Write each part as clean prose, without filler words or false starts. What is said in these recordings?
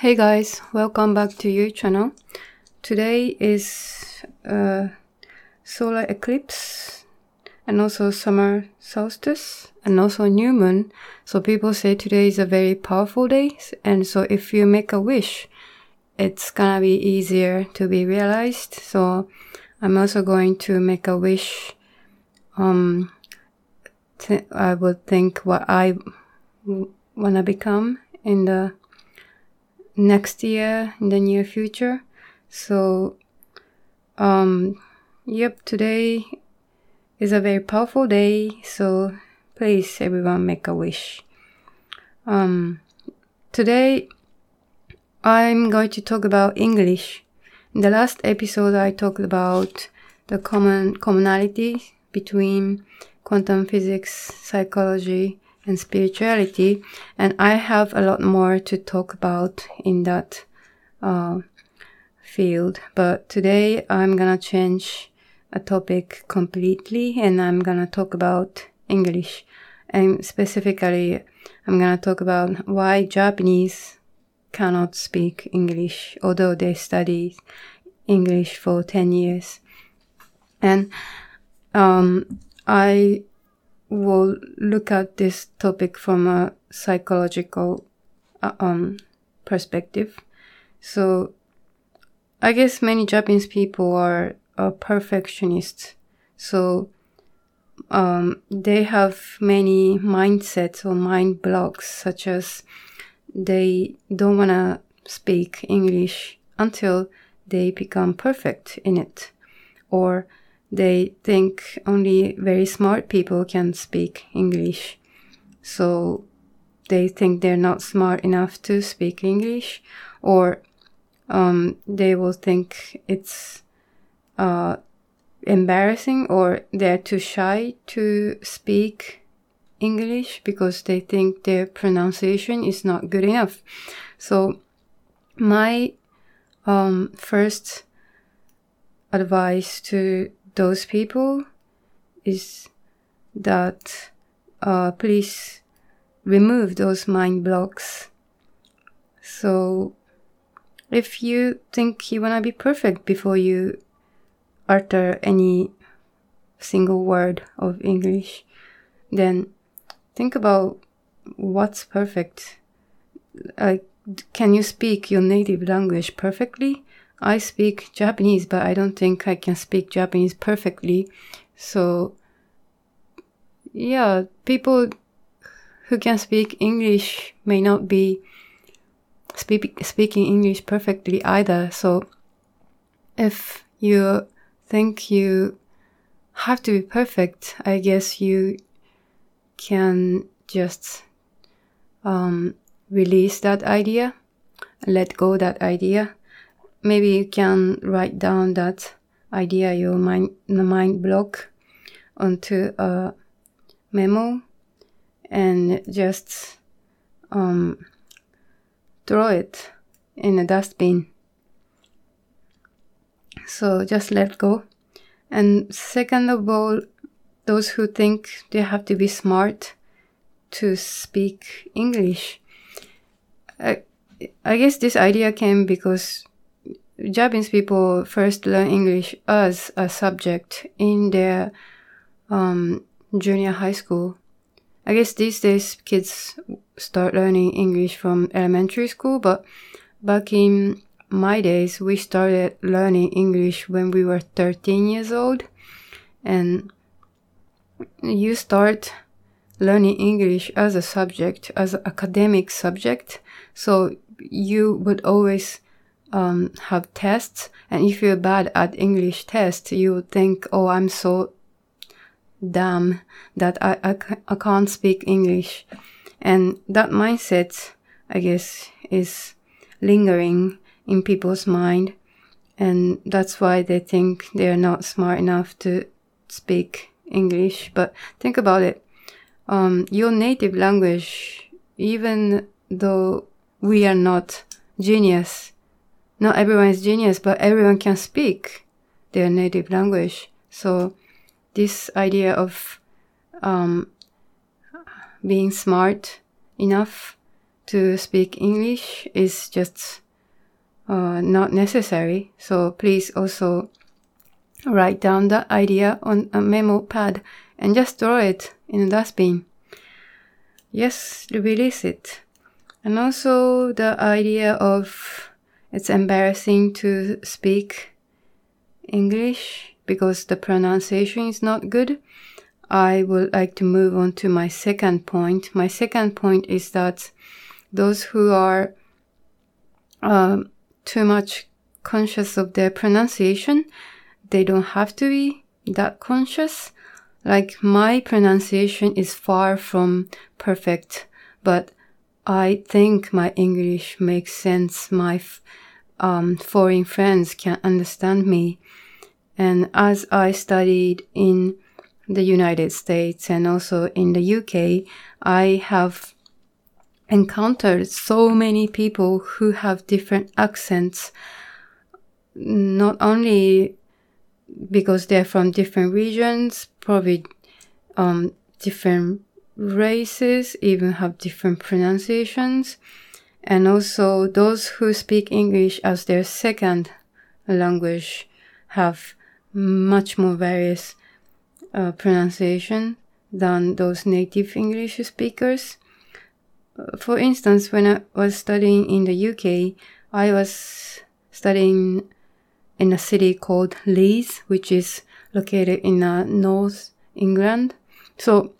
Hey guys, welcome back to your channel. Today is solar eclipse and also summer solstice and also new moon. So people say today is a very powerful day, and so if you make a wish, it's gonna be easier to be realized. So I'm also going to make a wish. I would think what I wanna become in the next year, in the near future. So today is a very powerful day, so please everyone make a wish. Today I'm going to talk about English. In the last episode I talked about the commonality between quantum physics, psychology, and spirituality, and I have a lot more to talk about in that field. But today I'm gonna change a topic completely, and I'm gonna talk about English. And specifically, I'm gonna talk about why Japanese cannot speak English, although they studied English for 10 years. And I will look at this topic from a psychological perspective. So I guess many Japanese people are perfectionists. So they have many mindsets or mind blocks, such as they don't want to speak English until they become perfect in it, or they think only very smart people can speak English. So they think they're not smart enough to speak English, or they will think it's embarrassing, or they're too shy to speak English because they think their pronunciation is not good enough. So my first advice to those people is that please remove those mind blocks. So if you think you want to be perfect before you utter any single word of English, then think about what's perfect. Can you speak your native language perfectly? I speak Japanese, but I don't think I can speak Japanese perfectly. So, yeah, people who can speak English may not be speaking English perfectly either. So, if you think you have to be perfect, I guess you can just release that idea, let go that idea. Maybe you can write down that idea, the mind block, onto a memo and just throw it in a dustbin. So just let go. And second of all, those who think they have to be smart to speak English, I guess this idea came because Japanese people first learn English as a subject in their junior high school. I guess these days kids start learning English from elementary school, but back in my days, we started learning English when we were 13 years old. And you start learning English as a subject, as an academic subject. So you would always have tests, and if you're bad at English test, you would think, oh, I'm so dumb that I can't speak English. And that mindset, I guess, is lingering in people's mind, and that's why they think they're not smart enough to speak English. But think about it. Your native language, even though we are not genius, not everyone is genius, but everyone can speak their native language. So this idea of being smart enough to speak English is just not necessary. So please also write down that idea on a memo pad and just throw it in a dustbin. Yes, release it. And also the idea of it's embarrassing to speak English because the pronunciation is not good. I would like to move on to my second point. My second point is that those who are too much conscious of their pronunciation, they don't have to be that conscious. Like my pronunciation is far from perfect, but I think my English makes sense. My foreign friends can understand me. And as I studied in the United States and also in the UK, I have encountered so many people who have different accents, not only because they're from different regions, probably different races, even have different pronunciations. And also those who speak English as their second language have much more various pronunciation than those native English speakers. For instance, when I was studying in the UK, I was studying in a city called Leeds, which is located in North England. So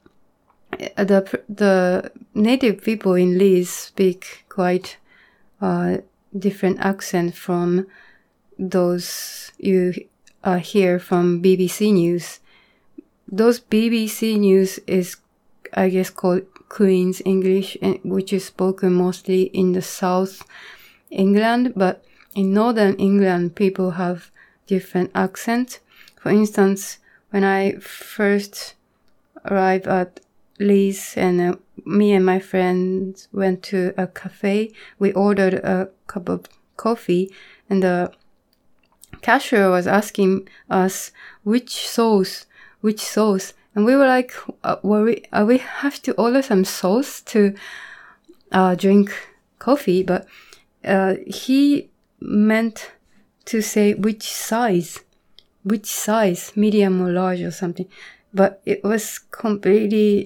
the native people in Leeds speak quite different accent from those you hear from BBC News. Those BBC News is, I guess, called Queen's English, which is spoken mostly in the South England, but in Northern England, people have different accents. For instance, when I first arrived at Leeds and me and my friends went to a cafe, we ordered a cup of coffee and the cashier was asking us which sauce, and we were like, we have to order some sauce to drink coffee, but he meant to say which size, medium or large or something, but it was completely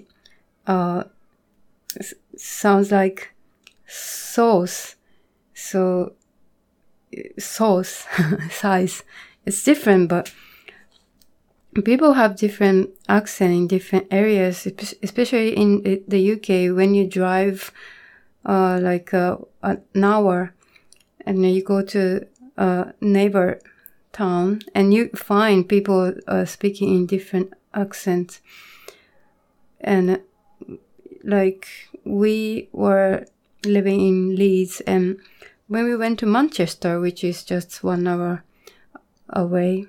sounds like sauce. So sauce size, it's different, but people have different accent in different areas, especially in the UK. When you drive like an hour and you go to a neighbor town and you find people speaking in different accents. And like we were living in Leeds, and when we went to Manchester, which is just 1 hour away,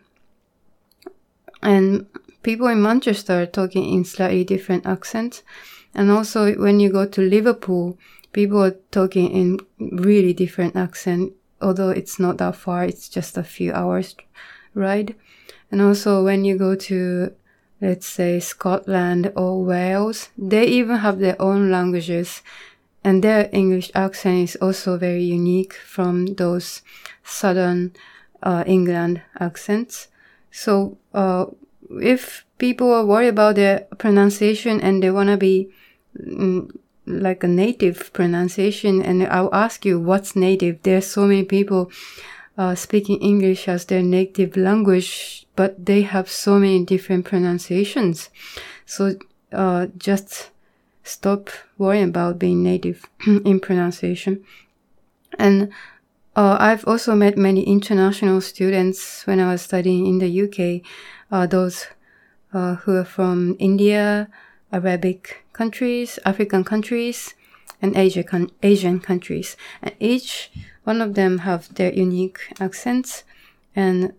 and people in Manchester are talking in slightly different accents. And also when you go to Liverpool, people are talking in really different accent, although it's not that far, it's just a few hours ride. And also when you go to, let's say, Scotland or Wales, they even have their own languages, and their English accent is also very unique from those southern England accents. So if people are worried about their pronunciation and they want to be like a native pronunciation, and I'll ask you, what's native? There's so many people speaking English as their native language, but they have so many different pronunciations. So just stop worrying about being native in pronunciation. And I've also met many international students when I was studying in the UK, those who are from India, Arabic countries, African countries, and Asian countries. And each one of them have their unique accents. And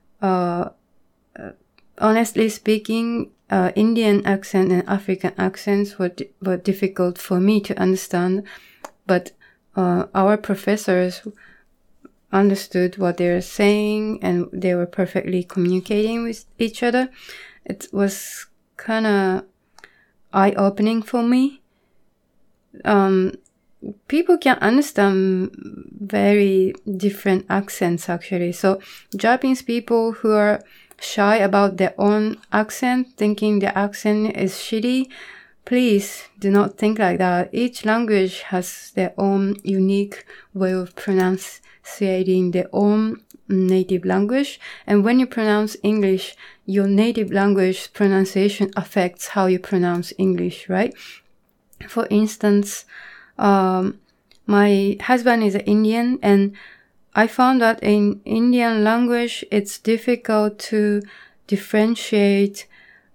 honestly speaking, Indian accent and African accents were difficult for me to understand, but our professors understood what they were saying and they were perfectly communicating with each other. It was kind of eye-opening for me. people can understand very different accents actually. So Japanese people who are shy about their own accent, thinking their accent is shitty, please do not think like that. Each language has their own unique way of pronunciating their own native language. And when you pronounce English, your native language pronunciation affects how you pronounce English, right? For instance, my husband is Indian, and I found that in Indian language, it's difficult to differentiate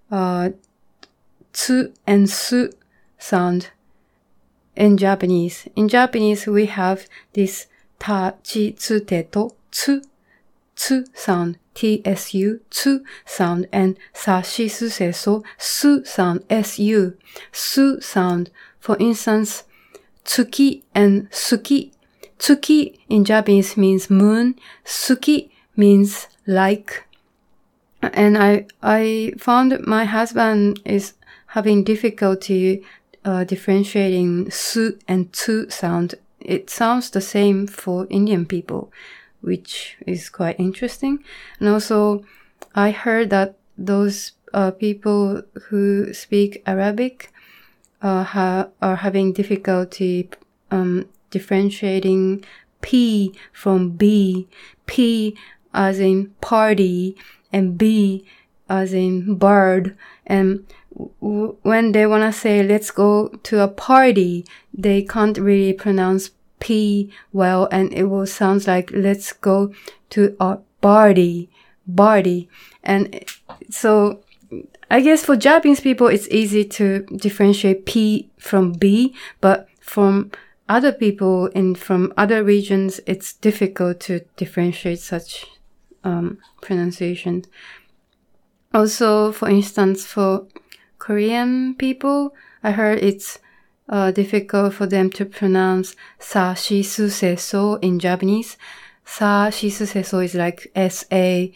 tsu and su sound in Japanese. In Japanese, we have this ta, chi, tsu, te, to, tsu sound, tsu, tsu sound, and sa, shi, su, se, so, su sound, su, su sound. For instance, tsuki and suki. Tsuki in Japanese means moon. Suki means like. And I found that my husband is having difficulty differentiating su and tsu sound. It sounds the same for Indian people, which is quite interesting. And also, I heard that those people who speak Arabic are having difficulty differentiating P from B. P as in party and B as in bird. And when they want to say, let's go to a party, they can't really pronounce P well, and it will sound like, let's go to a party. And so I guess for Japanese people, it's easy to differentiate P from B, but from other people from other regions, it's difficult to differentiate such pronunciation. Also, for instance, for Korean people, I heard it's difficult for them to pronounce sa, shi, su, se, so in Japanese. Sa, shi, su, se, so is like S-A,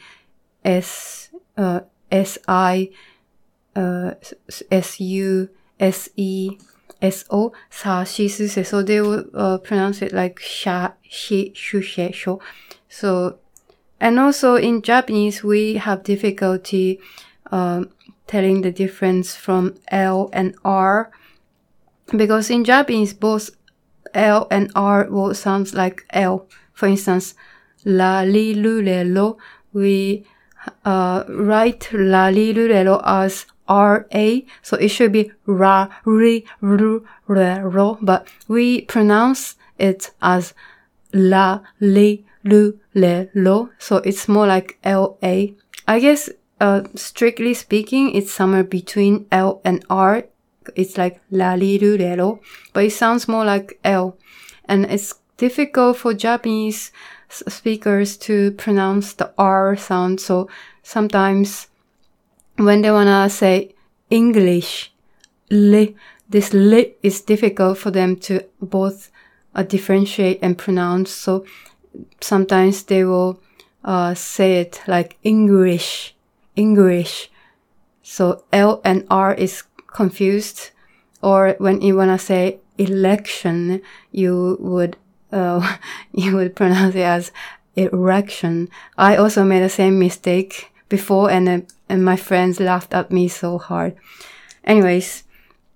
S-I, S-U, S-E, S-O, sa, shi, su, se. So they will pronounce it like sha, shi, shu, she, sho. So, and also in Japanese, we have difficulty telling the difference from L and R, because in Japanese, both L and R will sound like L. For instance, la, li, lu, le, lo. We write la, li, lu, le, lo as R-A, so it should be ra, ri, ru, re, ro, but we pronounce it as la, li, lu, le, lo, so it's more like L-A. I guess, strictly speaking, it's somewhere between L and R. It's like la, li, lu, le, lo, but it sounds more like L. And it's difficult for Japanese speakers to pronounce the R sound, so sometimes when they wanna say English, li, this li is difficult for them to both differentiate and pronounce. So sometimes they will say it like English. So L and R is confused. Or when you wanna say election, you would pronounce it as erection. I also made the same mistake before, and my friends laughed at me so hard. Anyways,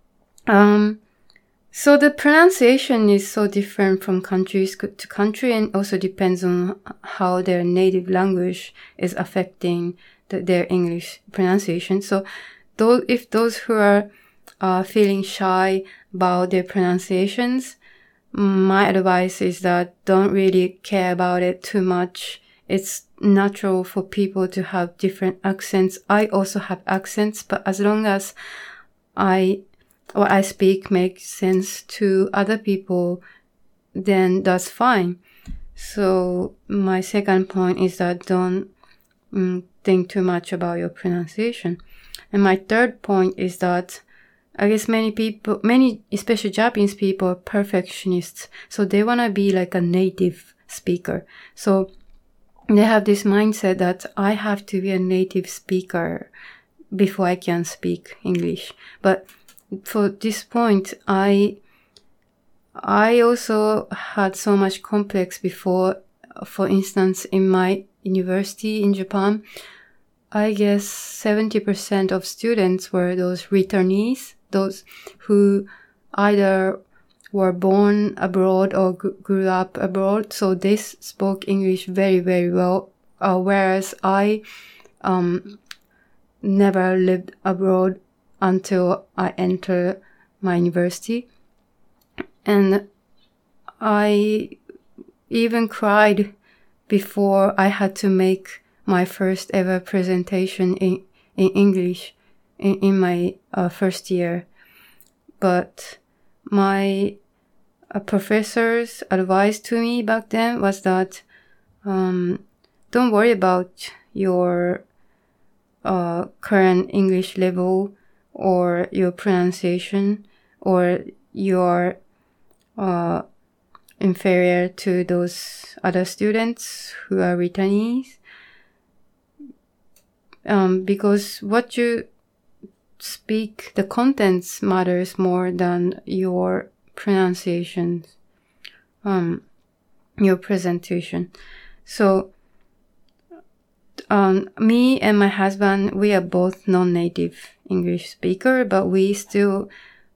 so the pronunciation is so different from country to country, and also depends on how their native language is affecting their English pronunciation. So if those who are feeling shy about their pronunciations, my advice is that don't really care about it too much. It's natural for people to have different accents. I also have accents, but as long as what I speak makes sense to other people, then that's fine. So my second point is that don't think too much about your pronunciation. And my third point is that I guess many, especially Japanese people, are perfectionists. So they want to be like a native speaker. So they have this mindset that I have to be a native speaker before I can speak English. But for this point, I I also had so much complex before. For instance, in my university in Japan, I guess 70% of students were those returnees, those who either were born abroad or grew up abroad. So they spoke English very, very well. Whereas I never lived abroad until I entered my university. And I even cried before I had to make my first ever presentation in English in my first year. But my professor's advice to me back then was that don't worry about your current English level or your pronunciation or your inferior to those other students who are returnees. Because what you speak, the contents matters more than your pronunciations, your presentation. So, me and my husband, we are both non-native English speaker, but we still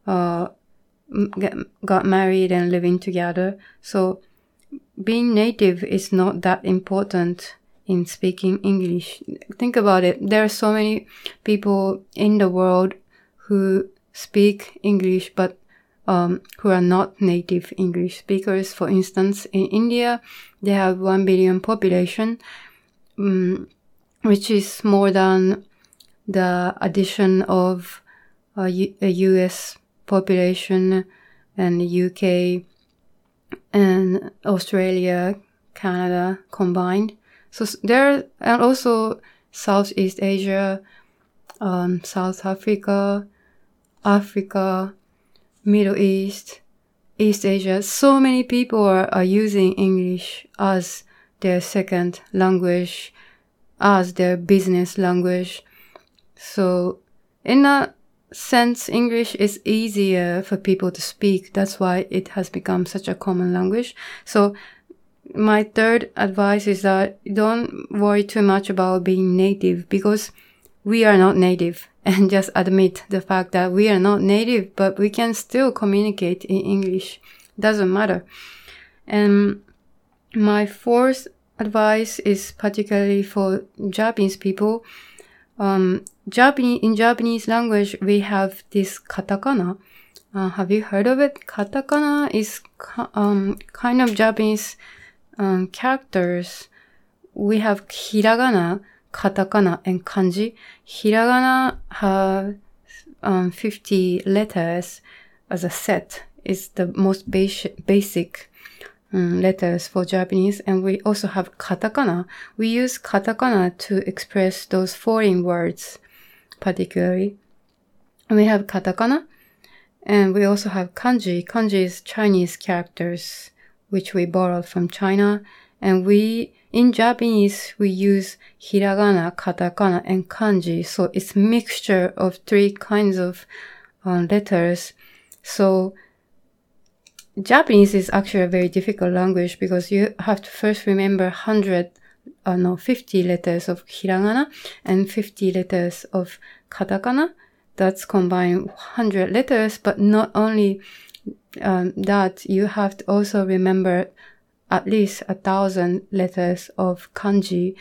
got married and living together. So being native is not that important in speaking English. Think about it. There are so many people in the world who speak English, but who are not native English speakers. For instance, in India, they have 1 billion population, which is more than the addition of a US population and the UK and Australia, Canada combined. So there, and also Southeast Asia, South Africa, Africa, Middle East, East Asia. So many people are using English as their second language, as their business language. So in a sense, English is easier for people to speak. That's why it has become such a common language. So my third advice is that don't worry too much about being native, because we are not native, and just admit the fact that we are not native, but we can still communicate in English. Doesn't matter. And my fourth advice is particularly for Japanese people. In Japanese language, we have this katakana. Have you heard of it? Katakana is kind of Japanese characters. We have hiragana, katakana, and kanji. Hiragana have 50 letters as a set. It's the most basic letters for Japanese. And we also have katakana. We use katakana to express those foreign words, particularly. And we have katakana, and we also have kanji. Kanji is Chinese characters, which we borrowed from China. And in Japanese, we use hiragana, katakana, and kanji. So it's a mixture of 3 kinds of letters. So Japanese is actually a very difficult language, because you have to first remember 50 letters of hiragana and 50 letters of katakana. That's combined 100 letters, but not only that, you have to also remember at least 1,000 letters of kanji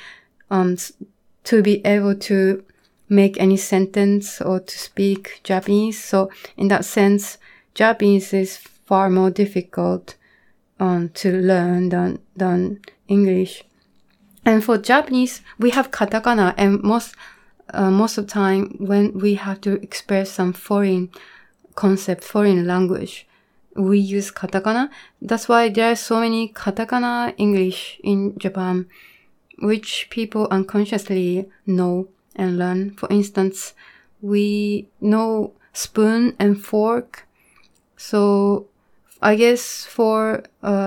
to be able to make any sentence or to speak Japanese. So in that sense, Japanese is far more difficult to learn than English. And for Japanese, we have katakana, and most of the time when we have to express some foreign concept, foreign language, we use katakana. That's why there are so many katakana English in Japan, which people unconsciously know and learn. For instance, we know spoon and fork. So I guess for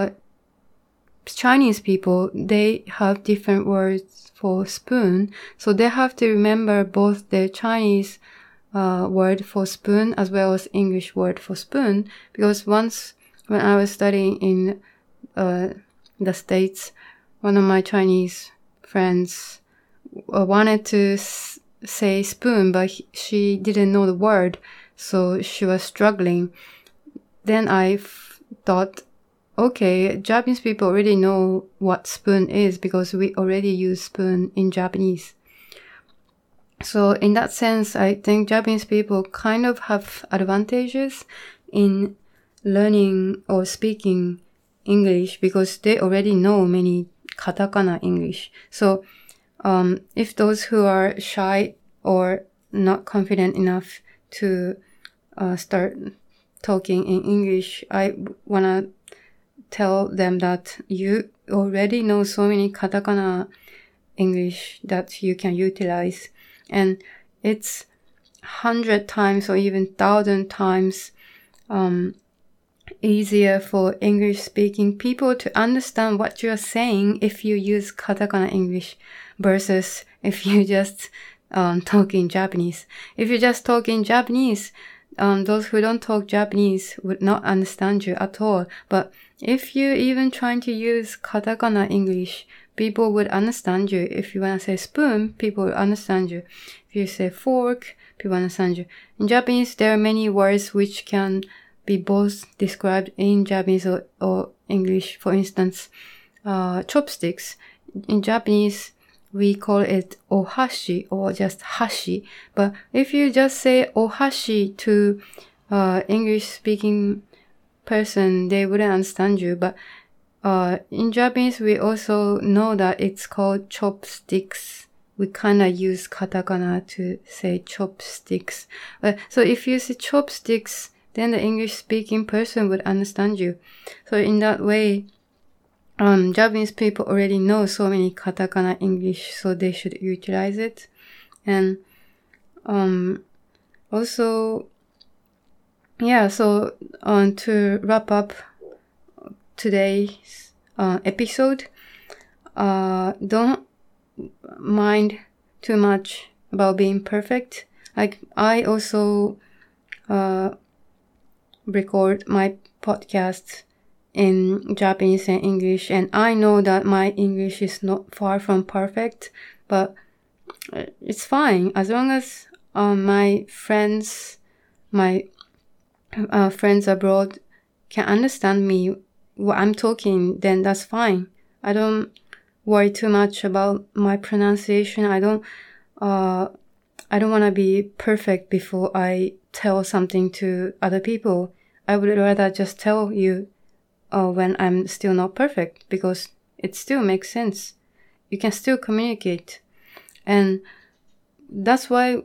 Chinese people, they have different words for spoon. So they have to remember both the Chinese word for spoon as well as English word for spoon, because once when I was studying in the States, one of my Chinese friends wanted to say spoon, but she didn't know the word, so she was struggling. Then I thought, okay, Japanese people already know what spoon is because we already use spoon in Japanese. So in that sense, I think Japanese people kind of have advantages in learning or speaking English because they already know many katakana English. So if those who are shy or not confident enough to start talking in English, I want to tell them that you already know so many katakana English that you can utilize. And it's 100 times or even 1,000 times easier for English-speaking people to understand what you're saying if you use katakana English versus if you just talk in Japanese. If you just talk in Japanese, those who don't talk Japanese would not understand you at all. But if you even trying to use katakana English, people would understand you. If you want to say spoon, people will understand you. If you say fork, people understand you. In Japanese, there are many words which can be both described in Japanese or English. For instance, chopsticks. In Japanese, we call it ohashi or just hashi. But if you just say ohashi to English-speaking person, they wouldn't understand you. But in Japanese, we also know that it's called chopsticks. We kind of use katakana to say chopsticks. So if you say chopsticks, then the English-speaking person would understand you. So in that way, Japanese people already know so many katakana English, so they should utilize it. And also, yeah, so to wrap up today's episode, don't mind too much about being perfect. Like, I also record my podcast in Japanese and English, and I know that my English is not far from perfect, but it's fine as long as my friends abroad can understand me what I'm talking, then that's fine. I don't worry too much about my pronunciation. I don't want to be perfect before I tell something to other people. I would rather just tell you when I'm still not perfect, because it still makes sense. You can still communicate. And that's why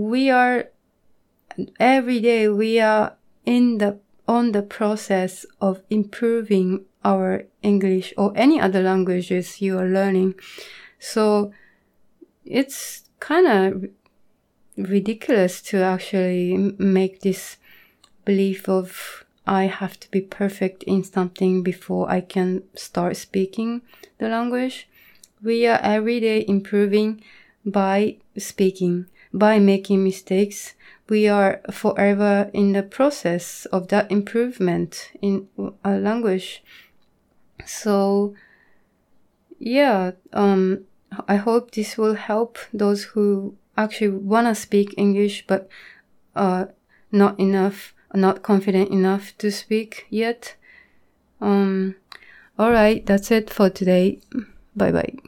every day we are on the process of improving our English or any other languages you are learning. So it's kind of ridiculous to actually make this belief of I have to be perfect in something before I can start speaking the language. We are every day improving by speaking, by making mistakes. We are forever in the process of that improvement in our language. So, yeah, I hope this will help those who actually want to speak English but not confident enough to speak yet. Alright, that's it for today. Bye bye.